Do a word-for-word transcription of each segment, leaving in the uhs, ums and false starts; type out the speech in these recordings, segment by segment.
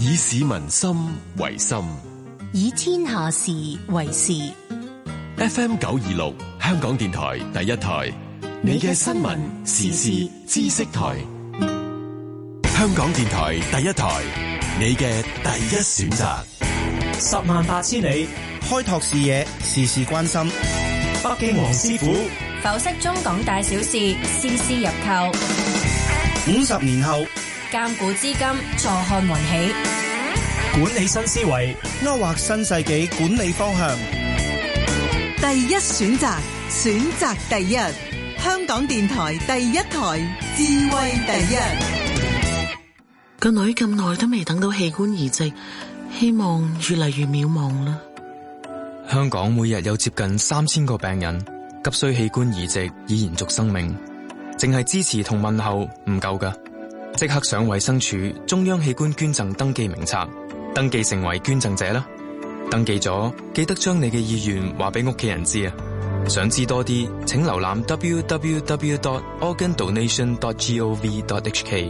以市民心為心， 以天下事為事。 F M 九二六香港電台第一台，你嘅新聞時事知識台。香港電台第一台，你嘅第一選擇。 十萬八千里， 開拓視野，事事關心。 北京黃師傅剖析中港大小事，絲絲入扣。 五十年後， 鑑古知今，坐看雲起。 管理新思維， 勾畫新世紀管理方向。 第一選擇，選擇第一。香港電台第一台，智慧第一。 個女咁耐都未等到器官移植，希望越嚟越渺茫啦。 香港每日有接近三千個病人急需器官移植以延續生命，淨係支持同問候唔夠㗎，即刻上衛生署中央器官捐贈登記名冊，登記成為捐贈者啦。登記咗，記得將你嘅意願話俾屋企人知啊！想知多啲，請瀏覽 double-u double-u double-u dot organ donation dot gov dot h k。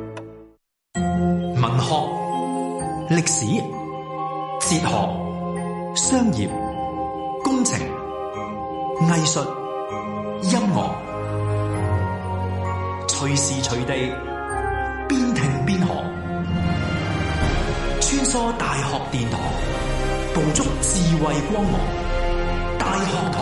文學、歷史、哲學、商業、工程、藝術、音樂，隨時隨地邊聽邊學，穿梭大學殿堂，捕捉智慧光芒。大學堂。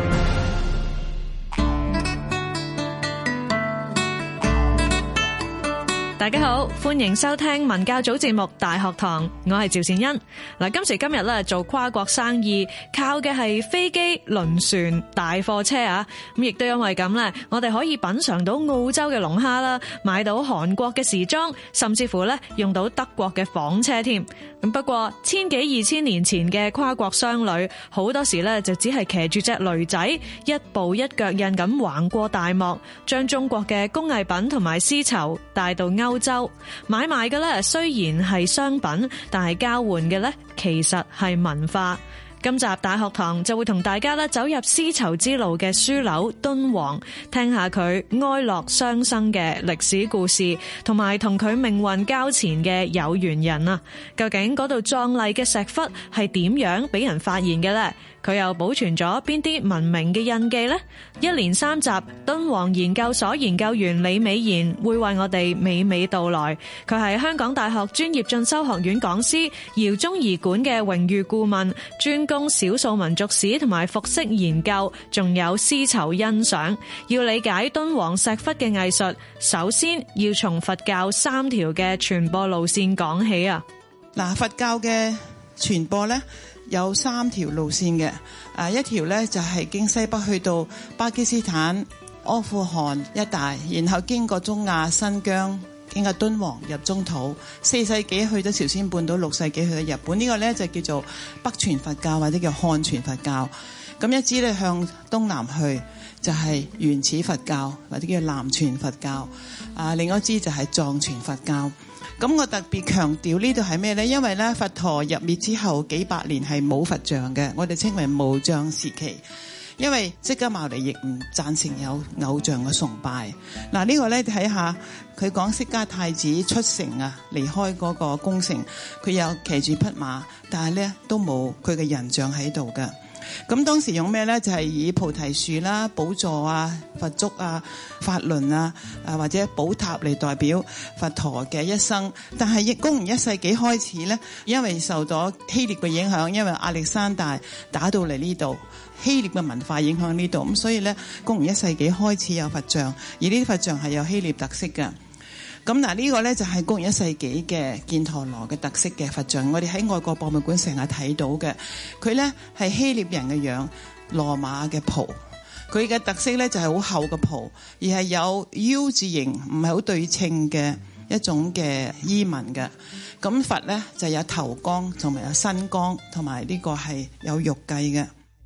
大家好，歡迎收聽文教組節目《大學堂》，我係趙善恩。嗱，今時今日咧做跨國生意，靠嘅係飛機、輪船、大貨車啊。咁亦都因為咁咧，我哋可以品嘗到澳洲嘅龍蝦啦，買到韓國嘅時裝，甚至乎咧用到德國嘅房車添。咁不過千幾二千年前嘅跨國商旅，好多時咧就只係騎住隻驢仔，一步一腳印咁橫過大漠，將中國嘅工藝品同埋絲綢帶到歐洲。買賣嘅咧雖然係商品，但係交換嘅咧其實係文化。今集大學堂就會同大家咧走入絲綢之路嘅樞紐敦煌，聽下佢哀樂雙生嘅歷史故事，同埋同佢命運交纏嘅有緣人啊！究竟嗰度壯麗嘅石窟係點樣俾人發現嘅呢？佢又保存咗邊啲文明嘅印記呢？一連三集，敦煌研究所研究員李美賢會為我哋娓娓道來。佢係香港大學專業進修學院講師，饒宗頤館嘅榮譽顧問，專攻少數民族史同埋服飾研究，仲有絲綢欣賞。要理解敦煌石窟嘅藝術，首先要從佛教三條嘅傳播路線講起啊！ 嗱，佛教嘅傳播呢，有三條路線嘅，啊一條呢就係經西北去到巴基斯坦、阿富汗一帶，然後經過中亞、新疆，經過敦煌入中土，四世紀去到朝鮮半島，六世紀去到日本。呢個呢就叫做北傳佛教或者叫漢傳佛教。咁一支呢向東南去就係原始佛教或者叫南傳佛教，啊另一支就係藏傳佛教。咁我特別強調呢度係咩呢？因為咧佛陀入滅之後幾百年係冇佛像嘅，我哋稱為無像時期。因為釋迦牟尼亦唔贊成有偶像嘅崇拜。嗱、這、呢個咧睇下佢講釋迦太子出城啊，離開嗰個宮城，佢有騎住匹馬，但係咧都冇佢嘅人像喺度嘅。咁當時用咩呢？就係、是、以菩提樹啦、寶座啊、佛足啊、法輪啊，啊或者寶塔嚟代表佛陀嘅一生。但係公元一世紀開始呢，因為受到希臘嘅影響，因為亞歷山大打到嚟呢度，希臘嘅文化影響呢度，咁所以呢，公元一世紀開始有佛像，而呢啲佛像係有希臘特色嘅。咁嗱，呢個呢就係公元一世紀嘅犍陀羅嘅特色嘅佛像，我哋喺外國博物館成日睇到嘅。佢呢係希臘人嘅樣，羅馬嘅袍，佢嘅特色呢就係好厚嘅袍，而係有 U 字形，唔係好對稱嘅一種嘅衣紋嘅。咁佛呢就有頭光，同埋有身光，同埋呢個係有玉髻嘅。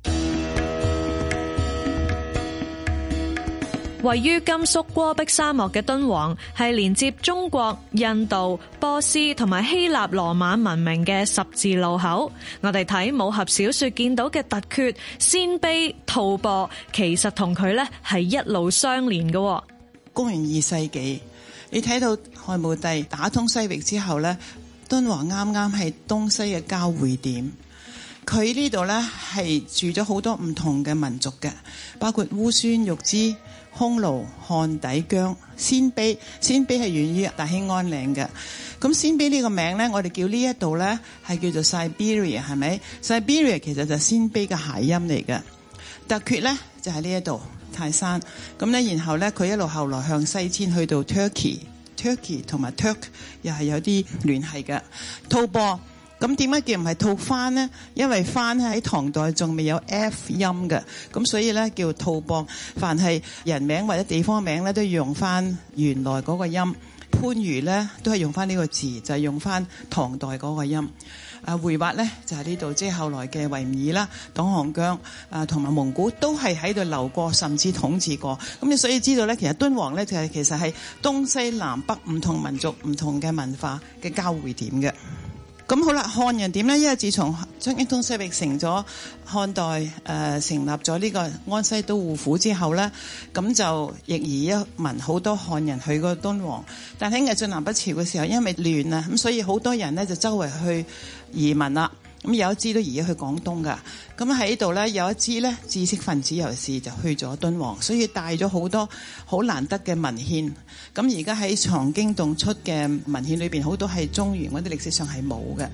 位於甘肅戈壁沙漠嘅敦煌，係連接中國、印度、波斯同埋希臘羅馬文明嘅十字路口。我哋睇武俠小說見到嘅突厥、鮮卑、吐蕃，其實同佢咧係一路相連嘅。公元二世紀，你睇到漢武帝打通西域之後咧， 敦煌啱啱係東西嘅交匯點。佢呢度呢係住咗好多唔同嘅民族嘅，包括烏孫、玉枝、匈奴、漢底、羌、鮮卑。鮮卑係源於大興安嶺嘅。咁鮮卑呢個名呢，我哋叫呢一度呢係叫做 Siberia， 係咪 Siberia 其實就係鮮卑嘅諧音嚟嘅。突厥呢就係呢一度泰山。咁呢，然後呢，佢一路後來向西遷去到 Turkey，Turkey 同埋 Turk 又係有啲聯繫嘅。吐蕃。咁點解叫唔係吐蕃呢？因為蕃喺唐代仲未有 F 音嘅，咁所以咧叫吐蕃。凡係人名或者地方名咧，都要用翻原來嗰個音。番禺咧都係用翻呢個字，就係、是、用翻唐代嗰個音。啊，回鶻咧就係呢度，即係後來嘅維吾爾啦、黨項疆啊同埋蒙古都係喺度流過，甚至統治過。咁你所以知道咧，其實敦煌咧就係其實係東西南北唔同民族、唔同嘅文化嘅交匯點嘅。咁好啦，漢人點呢？因為自從將英東西域成咗漢代誒、呃、成立咗呢個安西都護府之後呢，咁就亦移一民好多漢人去過敦煌。但喺魏晉南北朝嘅時候，因為亂啊，咁所以好多人呢就周圍去移民啦。咁有一支都移咗去廣東噶。咁喺呢度呢，有一支呢知識分子尤其是就去咗敦煌，所以帶咗好多好難得嘅文獻。咁而家喺藏經洞出嘅文獻裏邊，好多係中原嗰啲歷史上係冇嘅。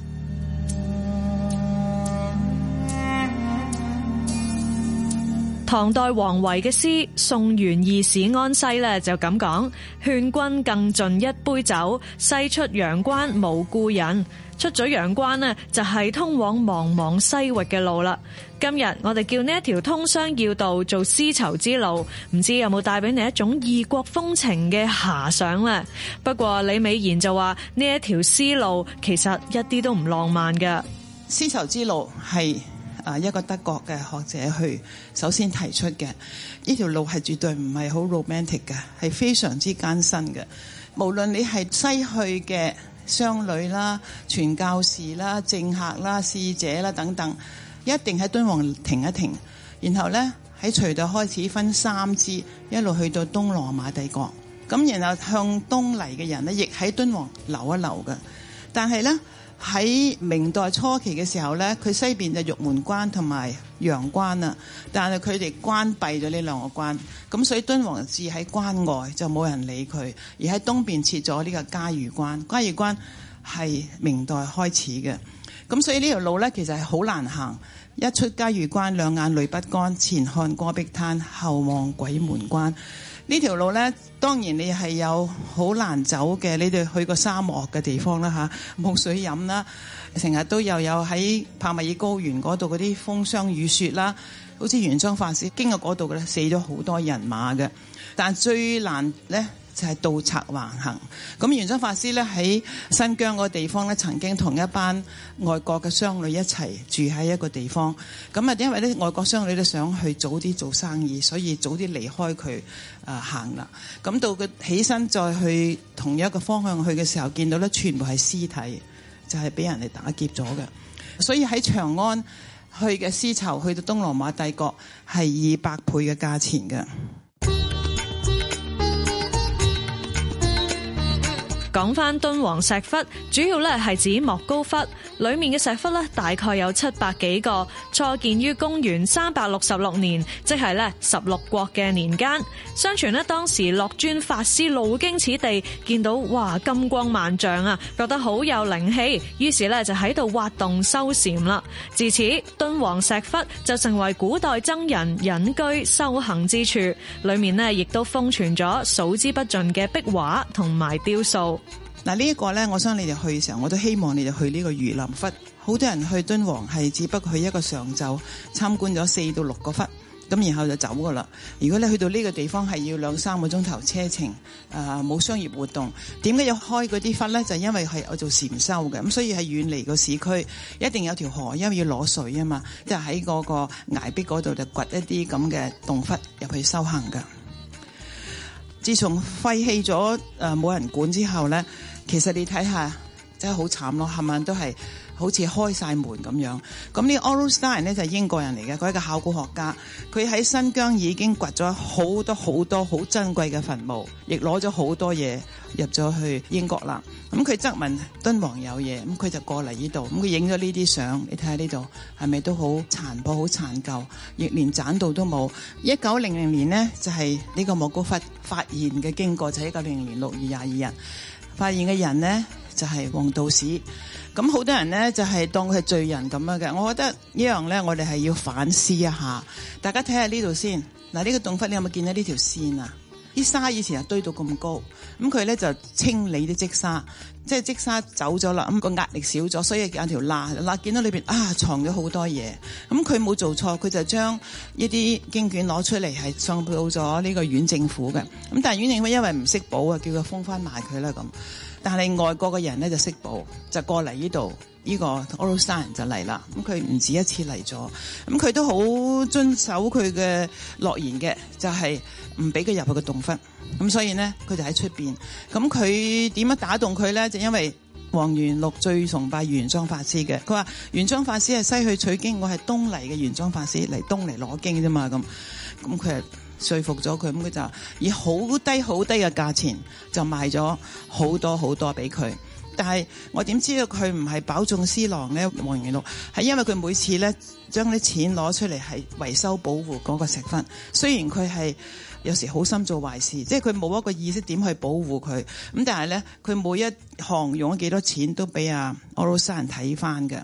唐代王維嘅詩《送元義士安西》咧就咁講：勸君更盡一杯酒，西出陽關無故人。出咗陽關呢，就係通往茫茫西域嘅路啦。今日我哋叫呢一條通商要道做絲綢之路，唔知有冇帶俾你一種異國風情嘅遐想呢？不過李美賢就話呢一條絲路其實一啲都唔浪漫嘅。 絲綢之路係啊一個德國嘅學者去首先提出嘅，呢條路係絕對唔係好 romantic 嘅，係非常之艱辛嘅。無論你係西去嘅商旅啦、傳教士啦、政客啦、使者啦等等，一定喺敦煌停一停，然後呢，喺隋代開始分三支，一路去到東羅馬帝國，咁然後向東嚟嘅人呢，亦喺敦煌留一留嘅。但係呢，喺明代初期嘅時候呢，佢西邊就玉門關同埋陽關啊，但係佢哋關閉咗呢兩個關，咁所以敦煌置喺關外，就冇人理佢，而喺東邊設咗呢個嘉峪關。嘉峪關係明代開始嘅，咁所以呢條路呢，其實係好難行。一出嘉峪關，兩眼淚不乾，前看戈壁灘，後望鬼門關。呢條路呢，當然你係有好難走嘅，你哋去過沙漠嘅地方啦嚇，冇水飲啦，成日都又有喺帕米爾高原嗰度嗰啲風霜雨雪啦，好似玄奘法師經過嗰度嘅咧，死咗好多人馬嘅。但最難呢，就係盜賊橫行。咁玄奘法師咧喺新疆嗰個地方咧，曾經同一班外國嘅商旅一齊住喺一個地方。咁啊，因為咧外國商旅都想去早啲做生意，所以早啲離開佢啊行啦。咁到佢起身再去同一個方向去嘅時候，見到咧全部係屍體，就係俾人哋打劫咗嘅。所以喺長安去嘅絲綢去到東羅馬帝國係二百倍嘅價錢嘅。 講翻敦煌石窟，主要咧係指莫高窟，裏面嘅石窟咧大概有七百幾個，初建於公元三百六十六年，即係咧十六國嘅年間。相傳咧當時樂尊法師路經此地，見到哇金光萬丈啊，覺得好有靈氣，於是咧就喺度挖洞修禪啦。自此，敦煌石窟就成為古代僧人隱居修行之處，裏面咧亦都封存咗數之不盡嘅壁畫同埋雕塑。 嗱，呢一個呢，我想你哋去嘅時候，我都希望你哋去呢個儒林窟。好多人去敦煌係只不過去一個上晝參觀咗四到六個窟，咁然後就走噶啦。如果你去到呢個地方係要兩三個鐘頭車程，誒、呃、冇商業活動，點解要開嗰啲窟呢？就因為係我做禪修嘅，咁所以係遠離個市區，一定有條河，因為要攞水啊嘛，即係喺嗰個崖壁嗰度就掘一啲咁嘅洞窟入去修行噶。自從廢棄咗誒冇人管之後呢，其實你睇下真係好慘咯，冚唪唥都係好似開晒門咁樣。咁呢個 Otto Stein 咧就係英國人嚟嘅，佢係個考古學家，佢喺新疆已經掘咗好多好多好珍貴嘅墳墓，亦攞咗好多嘢入咗去英國啦。咁佢質問敦煌有嘢，咁佢就過嚟呢度，咁佢影咗呢啲相，你睇下呢度係咪都好殘破、好殘舊，亦連棧道都冇。一九零零年呢，就係、是、呢個莫高窟發現嘅經過，就係一九零零年六月廿二日發現嘅人呢，就係、是、黃道士。咁好多人呢，就係當佢係罪人咁樣嘅，我覺得呢樣呢，我哋係要反思一下。大家睇下呢度先，嗱，呢個洞窟你有冇見到呢條線啊？啲沙以前係堆到咁高，咁佢咧就清理啲積沙，即係積沙走咗啦，咁個壓力少咗，所以有條罅罅見到裏邊啊藏咗好多嘢。咁佢冇做錯，佢就將一啲經卷攞出嚟係送到咗呢個縣政府嘅。咁但係縣政府因為唔識保啊，叫佢封翻埋佢啦咁。但係外國嘅人咧就識保，就過嚟呢度，呢個 Otto Stein 就嚟啦。咁佢唔止一次嚟咗，咁佢都好遵守佢嘅諾言嘅，就係唔俾佢入去個洞窟。咁所以呢，佢就喺出邊。咁佢點樣打動佢咧？就因為黃元祿最崇拜玄奘法師嘅，佢話玄奘法師係西去取經，我係東嚟嘅玄奘法師嚟東嚟攞經啫嘛。咁咁佢係說服咗佢，咁佢就以好低好低嘅價錢就賣咗好多好多俾佢。但係我點知道佢唔係飽中私囊咧？黃元祿係因為佢每次咧將啲錢攞出嚟係維修保護嗰個石窟，雖然佢係有時好心做壞事，即係佢冇一個意識點去保護佢，咁但係咧佢每一項用咗幾多錢都俾阿 Otto Stein睇翻嘅。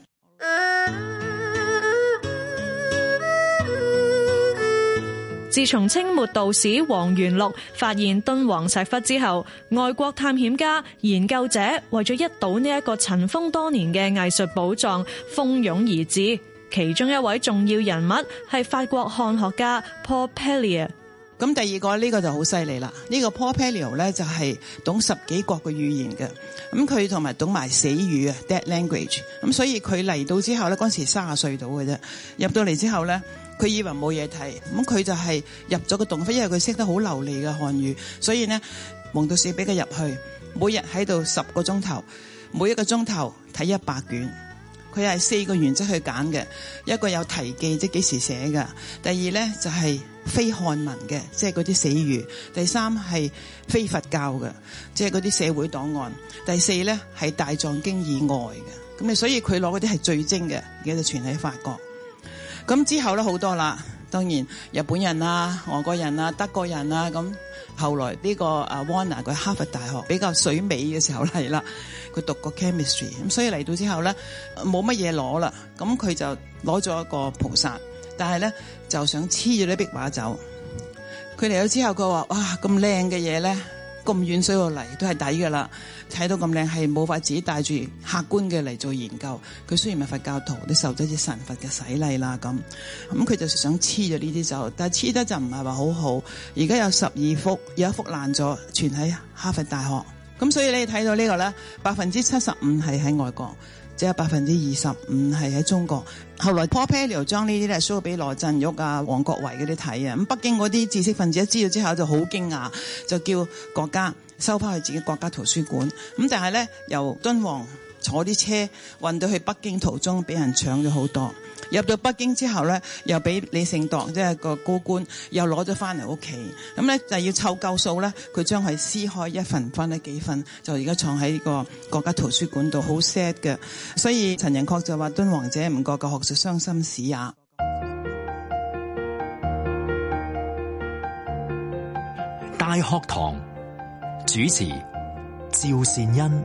自從清末道士黃元祿發現敦煌石窟之後，外國探險家、研究者為咗一睹呢一個塵封多年嘅藝術寶藏，蜂擁而至。其中一位重要人物係法國漢學家 Paul Pellier。 咁第二個呢、呢個就好犀利啦，呢、呢個 Paul Pellier 咧就係懂十幾國嘅語言嘅，咁佢同埋懂埋死語啊 dead language， 咁所以佢嚟到之後咧，嗰陣時三十歲到嘅啫，入到嚟之後咧，佢以為冇嘢睇，咁佢就係入咗個洞窟，因為佢識得好流利嘅漢語，所以呢，黃道士俾佢入去，每日喺度十個鐘頭，每一個鐘頭睇一百卷。佢係四個原則去揀嘅，一個有題記，即係幾時寫嘅；第二咧就係非漢文嘅，即係嗰啲死語；第三係非佛教嘅，即係嗰啲社會檔案；第四咧係大藏經以外嘅。咁啊，所以佢攞嗰啲係最精嘅，而家就傳喺法國。咁之後咧好多啦，當然日本人啊、俄國人啊、德國人啊，咁後來呢個啊 Warner 佢哈佛大學比較水尾嘅時候嚟啦。佢讀過 chemistry， 咁所以嚟到之後咧冇乜嘢攞啦，咁佢就攞咗一個菩薩，但係咧就想黐住啲壁畫走。佢嚟咗之後，佢話：哇，咁靚嘅嘢咧，咁遠水路嚟都係抵㗎啦！睇到咁靚係冇法自己帶住客觀嘅嚟做研究。佢雖然係佛教徒，都受咗啲神佛嘅洗禮啦，咁咁佢就想黐咗呢啲走，但係黐得就唔係話好好。而家有十二幅，有一幅爛咗，傳喺哈佛大學。咁所以你睇到呢個咧，百分之七十五係喺外國，只有百分之二十五係喺中國。後來 Paul Pellier 將呢啲咧 show 俾羅振玉啊、王國維嗰啲睇啊，咁北京嗰啲知識分子一知道之後就好驚訝，就叫國家收翻去自己國家圖書館。咁但係咧，由敦煌坐啲車運到去北京途中，俾人搶咗好多。入到北京之後咧，又俾李勝鐸即係個高官又攞咗翻嚟屋企，咁咧就要湊夠數咧，佢將佢撕開一份分咗幾份，就而家藏喺個國家圖書館度，好 sad 嘅。所以陳寅恪就話：敦煌者唔覺嘅學術傷心史也。 大學堂主持趙善恩。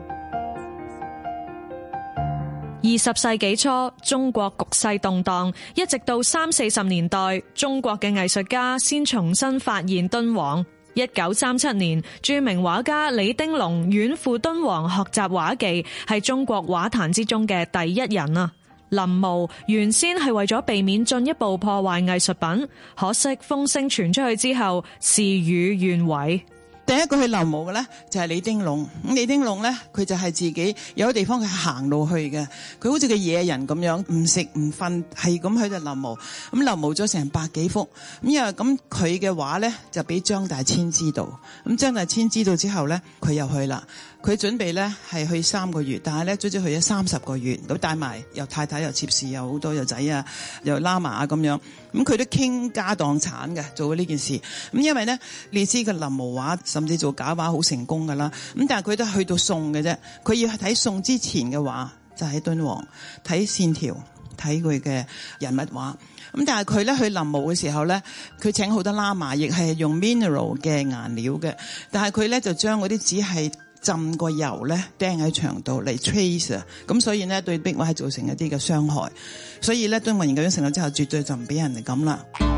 二十世紀初，中國局勢動盪，一直到三四十年代，中國嘅藝術家先重新發現敦煌。一九三七年，著名畫家李丁龍遠赴敦煌學習畫技，係中國畫壇之中嘅第一人啊！臨摹原先係為咗避免進一步破壞藝術品，可惜風聲傳出去之後，事與願違。 第一個去臨摹嘅咧就係李丁龍。咁李丁龍咧，佢就係自己有啲地方佢行路去嘅，佢好似個野人咁樣，唔食唔瞓，係咁喺度臨摹。咁臨摹咗成百幾幅。咁因為咁佢嘅畫咧就俾張大千知道。咁張大千知道之後咧，佢又去啦。 佢準備咧係去三個月，但係咧最終去咗三十個月，咁帶埋又太太又妾侍又好多又仔啊，又喇嘛啊咁樣，咁佢都傾家蕩產嘅做呢件事。咁因為咧你知個臨摹畫甚至做假畫好成功噶啦，咁但係佢都去到宋嘅啫，佢要睇宋之前嘅畫就喺敦煌睇線條睇佢嘅人物畫。咁但係佢咧去臨摹嘅時候咧，佢請好多喇嘛，亦係用 mineral 嘅顏料嘅，但係佢咧就將嗰啲紙係浸過油咧釘喺牆度嚟 trace 啊，咁所以呢，對壁畫係造成一啲嘅傷害，所以咧敦煌研究院成立之後絕對就唔俾人哋咁啦。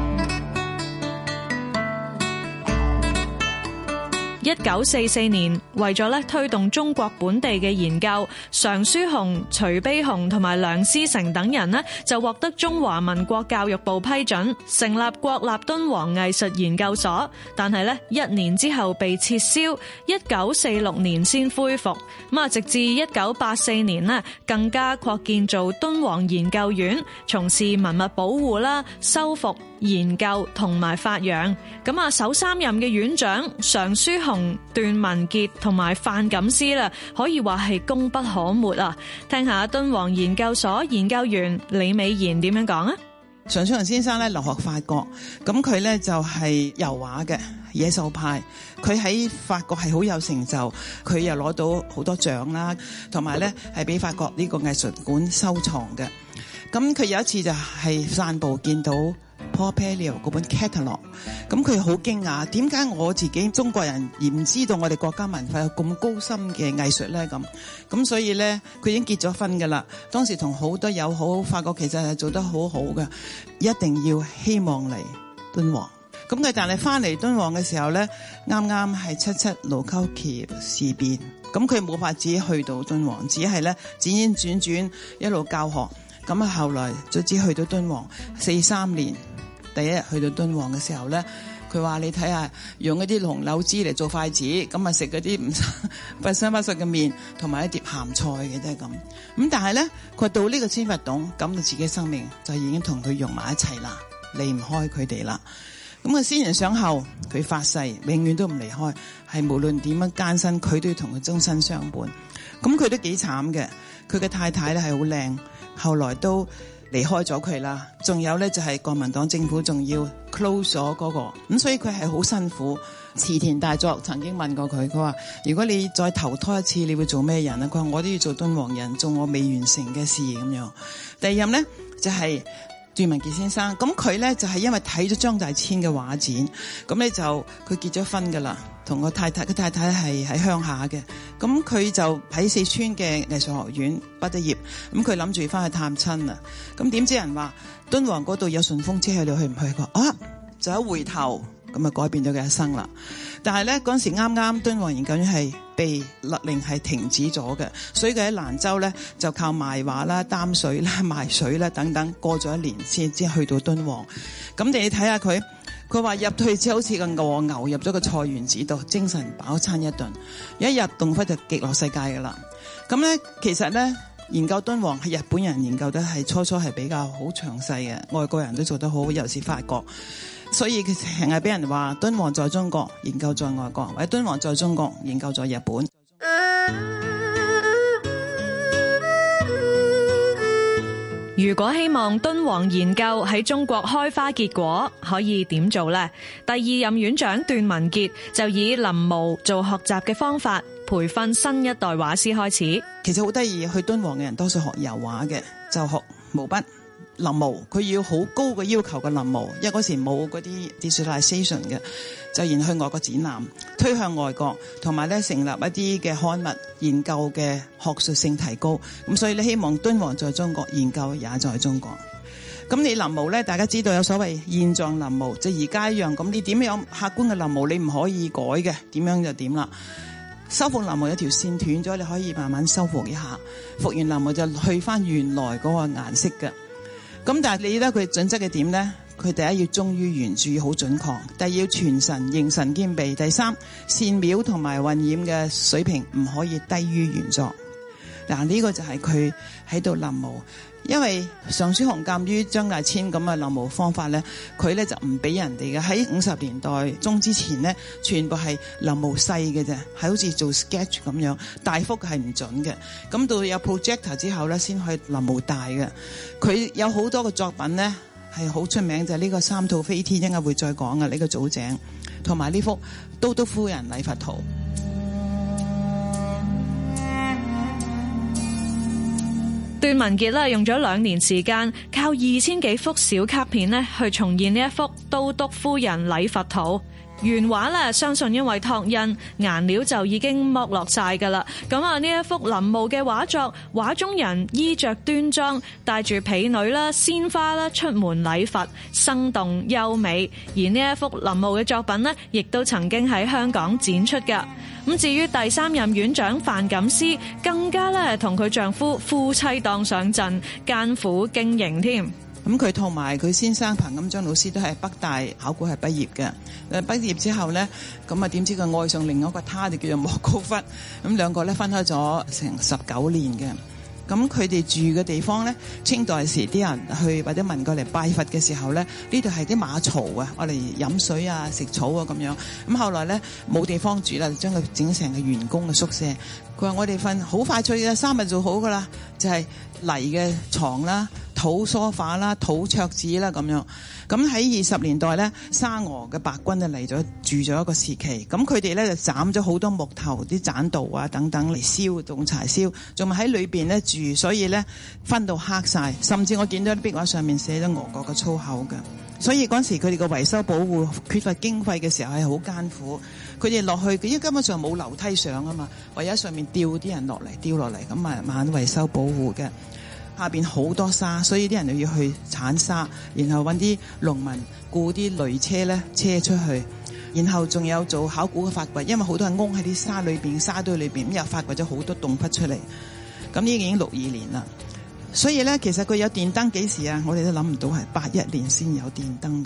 一九四四年，為咗咧推動中國本地嘅研究，常書雄、徐悲鴻同埋梁思成等人呢就獲得中華民國教育部批准，成立國立敦煌藝術研究所。但係呢一年之後被撤銷，一九四六年先恢復。咁啊，直至一九八四年呢，更加擴建做敦煌研究院，從事文物保護啦、修復、研究同埋發揚。咁啊，首三任嘅院長常書雄、段文傑同埋范錦思啦，可以話係功不可沒啊！聽下敦煌研究所研究員李美賢點樣講啊？ 常書雄先生咧留學法國，咁佢咧就係油畫嘅野獸派，佢喺法國係好有成就，佢又攞到好多獎啦，同埋咧係俾法國呢個藝術館收藏嘅。咁佢有一次就係散步見到 Paul Pelliot 嗰本 catalog， 咁佢好驚訝，點解我自己中國人而唔知道我哋國家文化有咁高深嘅藝術咧？咁咁所以咧，佢已經結咗婚噶啦。當時同好多友好，發覺其實係做得好好嘅，一定要希望嚟敦煌。咁佢但係翻嚟敦煌嘅時候咧，啱啱係七七盧溝橋事變，咁佢冇法子去到敦煌，只係咧轉轉轉轉一路教學。咁啊，後來卒之去到敦煌，四三年第一日去到敦煌嘅時候咧，佢話你睇下用一啲紅柳枝嚟做筷子，咁啊食嗰啲唔不三不四嘅麵，同埋一碟鹹菜嘅啫咁。咁但係咧，佢到呢個千佛洞，感到自己生命就已經同佢融埋一齊啦，離唔開佢哋啦。咁啊，先人想後，佢發誓永遠都唔離開，係無論點樣艱辛，佢都要同佢終身相伴。咁佢都幾慘嘅，佢嘅太太咧係好靚。後來都離開咗佢啦，仲有咧就係國民黨政府仲要 close 咗嗰個，咁所以佢係好辛苦。池田大作曾經問過佢，佢話如果你再投胎一次，你會做咩人啊？佢話我都要做敦煌人，做我未完成嘅事咁樣。第二任咧就係段文傑先生，咁佢咧就係因為睇咗張大千嘅畫展，咁咧就佢結咗婚噶啦，同個太太，佢太太係喺鄉下嘅，咁佢就喺四川嘅藝術學院畢咗業，咁佢諗住翻去探親啊，咁點知人話敦煌嗰度有順風車去，你去唔去？佢話啊，就一回頭，咁啊改變咗佢一生啦。但係咧嗰陣時啱啱敦煌研究院係被勒令係停止咗嘅，所以佢喺蘭州咧就靠賣畫啦、擔水啦、賣水啦等等，過咗一年先至去到敦煌。咁你睇下佢，佢話入去之後好似個餓牛入咗個菜園子度，精神飽餐一頓，一入洞窟就極樂世界噶啦。咁咧其實咧研究敦煌係日本人研究得係初初係比較好詳細嘅，外國人都做得好，尤其是法國。所以佢成日俾人話敦煌在中國，研究在外國，或者敦煌在中國，研究在日本。 如果希望敦煌研究喺中國開花結果，可以點做呢？第二任院長段文傑就以臨摹做學習嘅方法，培訓新一代畫師開始。 其實好得意，去敦煌嘅人多數學油畫嘅，就學毛筆。臨摹佢要好高嘅要求嘅臨摹，因為嗰時冇嗰啲 digitalization 嘅，就然去外國展覽，推向外國，同埋咧成立一啲嘅刊物，研究嘅學術性提高。咁所以咧希望敦煌在中國，研究也在中國。咁你臨摹咧，大家知道有所謂現狀臨摹，就而家一樣。咁你點樣客觀嘅臨摹，你唔可以改嘅，點樣就點啦。修復臨摹有條線斷咗，你可以慢慢修復一下。復原臨摹就去翻原來嗰個顏色嘅。咁但係你咧佢準則嘅點咧？佢第一要忠於原著，好準確；第二要傳神，形神兼備；第三線描同埋混染嘅水平唔可以低於原作。 嗱，呢個就係佢喺度臨摹。因為尚書鴻鑑於張大千咁嘅臨摹方法咧，佢咧就唔俾人哋嘅。喺五十年代中之前咧，全部係臨摹細嘅啫，係好似做 sketch 咁樣，大幅係唔準嘅。咁到有 projector 之後咧，先可以臨摹大嘅。佢有好多個作品咧係好出名，就係、是、呢個三吐飛天，應該會再講嘅呢個祖井，同埋呢幅都督夫人禮佛圖。 段文傑咧用咗兩年時間，靠二千幾幅小卡片咧去重現呢一幅都督夫人禮佛圖。原畫咧，相信因為拓印，顏料就已經剝落晒㗎啦。咁啊，呢一幅臨摹嘅畫作，畫中人衣着端莊，帶住婢女啦、鮮花啦出門禮佛，生動優美。而呢一幅臨摹嘅作品呢，亦都曾經喺香港展出㗎。咁至於第三任院長范錦思，更加咧同佢丈夫夫妻檔上陣，艱苦經營添。 咁佢同埋佢先生彭錦章老師都係北大考古系畢業嘅。誒畢業之後咧，咁啊點知佢愛上另外一個他，就叫做莫高窟。咁兩個咧分開咗成十九年嘅。咁佢哋住嘅地方咧，清代時啲人去或者民過嚟拜佛嘅時候咧，呢度係啲馬槽啊，我嚟飲水啊、食草啊咁樣。咁後來咧冇地方住啦，就將佢整成個員工嘅宿舍。佢話我哋瞓好快脆嘅，三日做好噶啦，就係、是、泥嘅床啦、土梳化啦、土桌子啦咁樣。咁喺二十年代咧，沙俄嘅白軍就嚟咗住咗一個時期。咁佢哋咧就斬咗好多木頭、啲棧道啊等等嚟燒，用柴燒，仲咪喺裏邊咧住，所以咧分到黑晒。甚至我見到啲壁畫上面寫咗俄國嘅粗口嘅。所以嗰陣時佢哋個維修保護缺乏經費嘅時候係好艱苦。佢哋落去，因為根本上冇樓梯上啊嘛，唯有喺上面吊啲人落嚟，吊落嚟咁慢慢維修保護嘅。下邊好多沙，所以啲人就要去鏟沙，然後揾啲農民雇啲驢車咧車出去，然後仲有做考古嘅發掘，因為好多人嗡喺啲沙裏邊、沙堆裏邊，咁又發掘咗好多洞窟出嚟。咁呢已經六二年啦，所以咧其實佢有電燈幾時啊？我哋都諗唔到係八一年先有電燈㗎。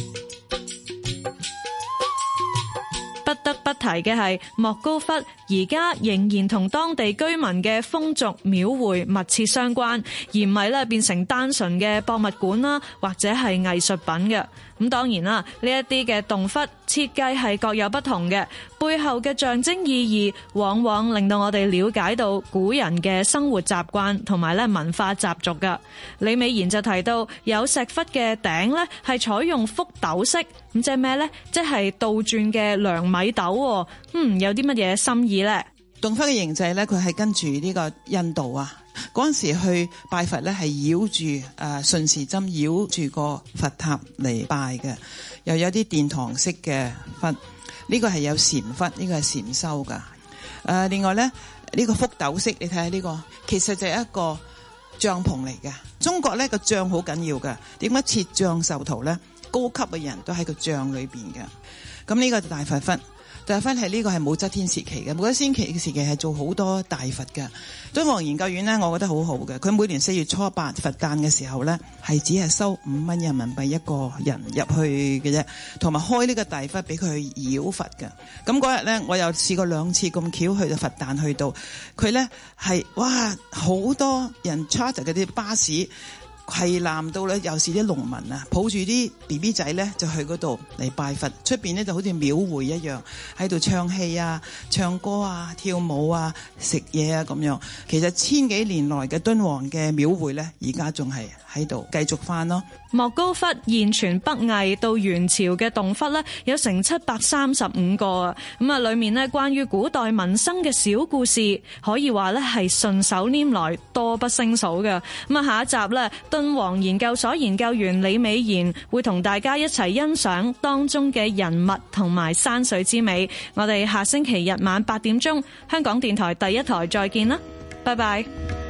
不得不提嘅係莫高窟，而家仍然同當地居民嘅風俗廟會密切相關，而唔係咧變成單純嘅博物館啦，或者係藝術品嘅。咁當然啦，呢一啲嘅洞窟設計係各有不同嘅，背後嘅象徵意義往往令到我哋了解到古人嘅生活習慣同埋咧文化習俗噶。李美賢就提到有石窟嘅頂咧係採用覆斗式，咁即係咩咧？即係倒轉嘅量米斗。嗯，有啲乜嘢心意咧？ 洞窟嘅形制咧，佢係跟住呢個印度啊。嗰陣時去拜佛咧，係繞住誒順時針繞住個佛塔嚟拜嘅，又有啲殿堂式嘅窟，呢、這個係有禪窟，呢、這個係禪修噶。誒、呃，另外咧呢、這個覆斗式，你睇下呢個，其實就係一個帳篷嚟嘅。中國咧個帳好緊要嘅，點解設帳授徒咧？高級嘅人都喺個帳裏邊嘅。咁呢個就大佛窟。大佛窟係呢個係武則天時期嘅，武則天時期係做好多大佛嘅。敦煌研究院呢，我覺得好好嘅。佢每年四月初八佛誕嘅時候呢，係只係收五蚊人民幣一個人入去嘅啫，同埋開呢個大佛俾佢去繞佛嘅。咁嗰日呢，我又試過兩次咁巧去到佛誕去到，佢呢係哇好多人 charter 嗰啲巴士。係攬到咧，又是啲農民啊，抱住啲 B B 仔咧，就去嗰度嚟拜佛。出邊咧就好似廟會一樣，喺度唱戲啊、唱歌啊、跳舞啊、食嘢啊咁樣。其實千幾年來嘅敦煌嘅廟會咧，而家仲係喺度繼續翻咯。 莫高窟現存北魏到元朝嘅洞窟咧，有成七百三十五個啊！咁啊，裏面咧關於古代民生嘅小故事，可以話咧係順手拈來，多不勝數嘅。咁啊，下一集咧，敦煌研究所研究員李美賢會同大家一齊欣賞當中嘅人物同埋山水之美。我哋下星期日晚八點鐘，香港電台第一台再見啦，拜拜。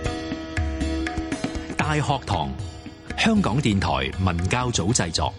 大學堂，香港電台文教組製作。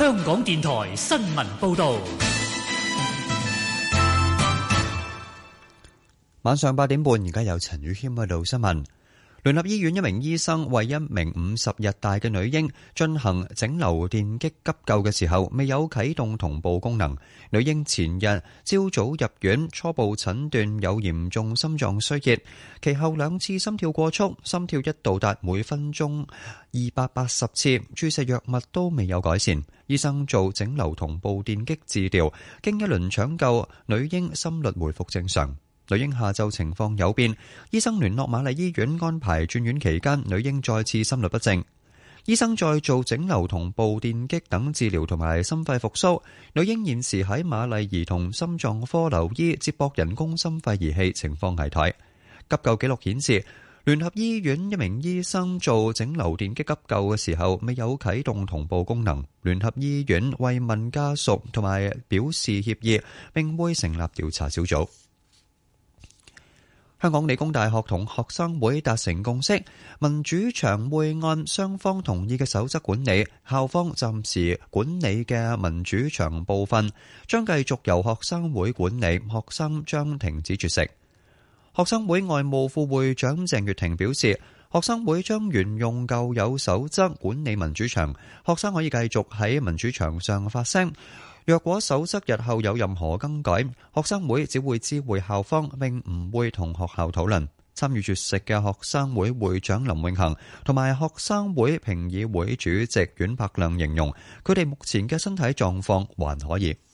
香港電台新聞報道。 晚上八點半，而家有陳宇謙報道新聞。聯合醫院一名醫生為一名五十日大嘅女嬰進行整流電擊急救嘅時候，未有啟動同步功能。女嬰前日朝早入院，初步診斷有嚴重心臟衰竭，其後兩次心跳過速，心跳一度達每分鐘二百八十次，注射藥物都未有改善。醫生做整流同步電擊治療，經一輪搶救，女嬰心率回復正常。女嬰下晝情況有變，醫生聯絡瑪麗醫院安排轉院期間，女嬰再次心律不正。醫生再做整流同步電擊等治療同埋心肺復甦。女嬰現時喺瑪麗兒童心臟科留醫，接駁人工心肺儀器，情況危殆。急救記錄顯示，聯合醫院一名醫生做整流電擊急救嘅時候，未有啟動同步功能。聯合醫院慰問家屬同埋表示歉意，並會成立調查小組。香港理工大學同學生會達成共識，民主牆會按雙方同意嘅守則管理，校方暫時管理嘅民主牆部分將繼續由學生會管理，學生將停止絕食。學生會外務副會長鄭月婷表示，學生會將沿用舊有守則管理民主牆，學生可以繼續喺民主牆上發聲。若果守則日後有任何更改，學生會只會知會校方，並唔會同學校討論。參與絕食嘅學生會會長林永恒同埋學生會評議會主席阮柏亮形容，佢哋目前嘅身體狀況還可以。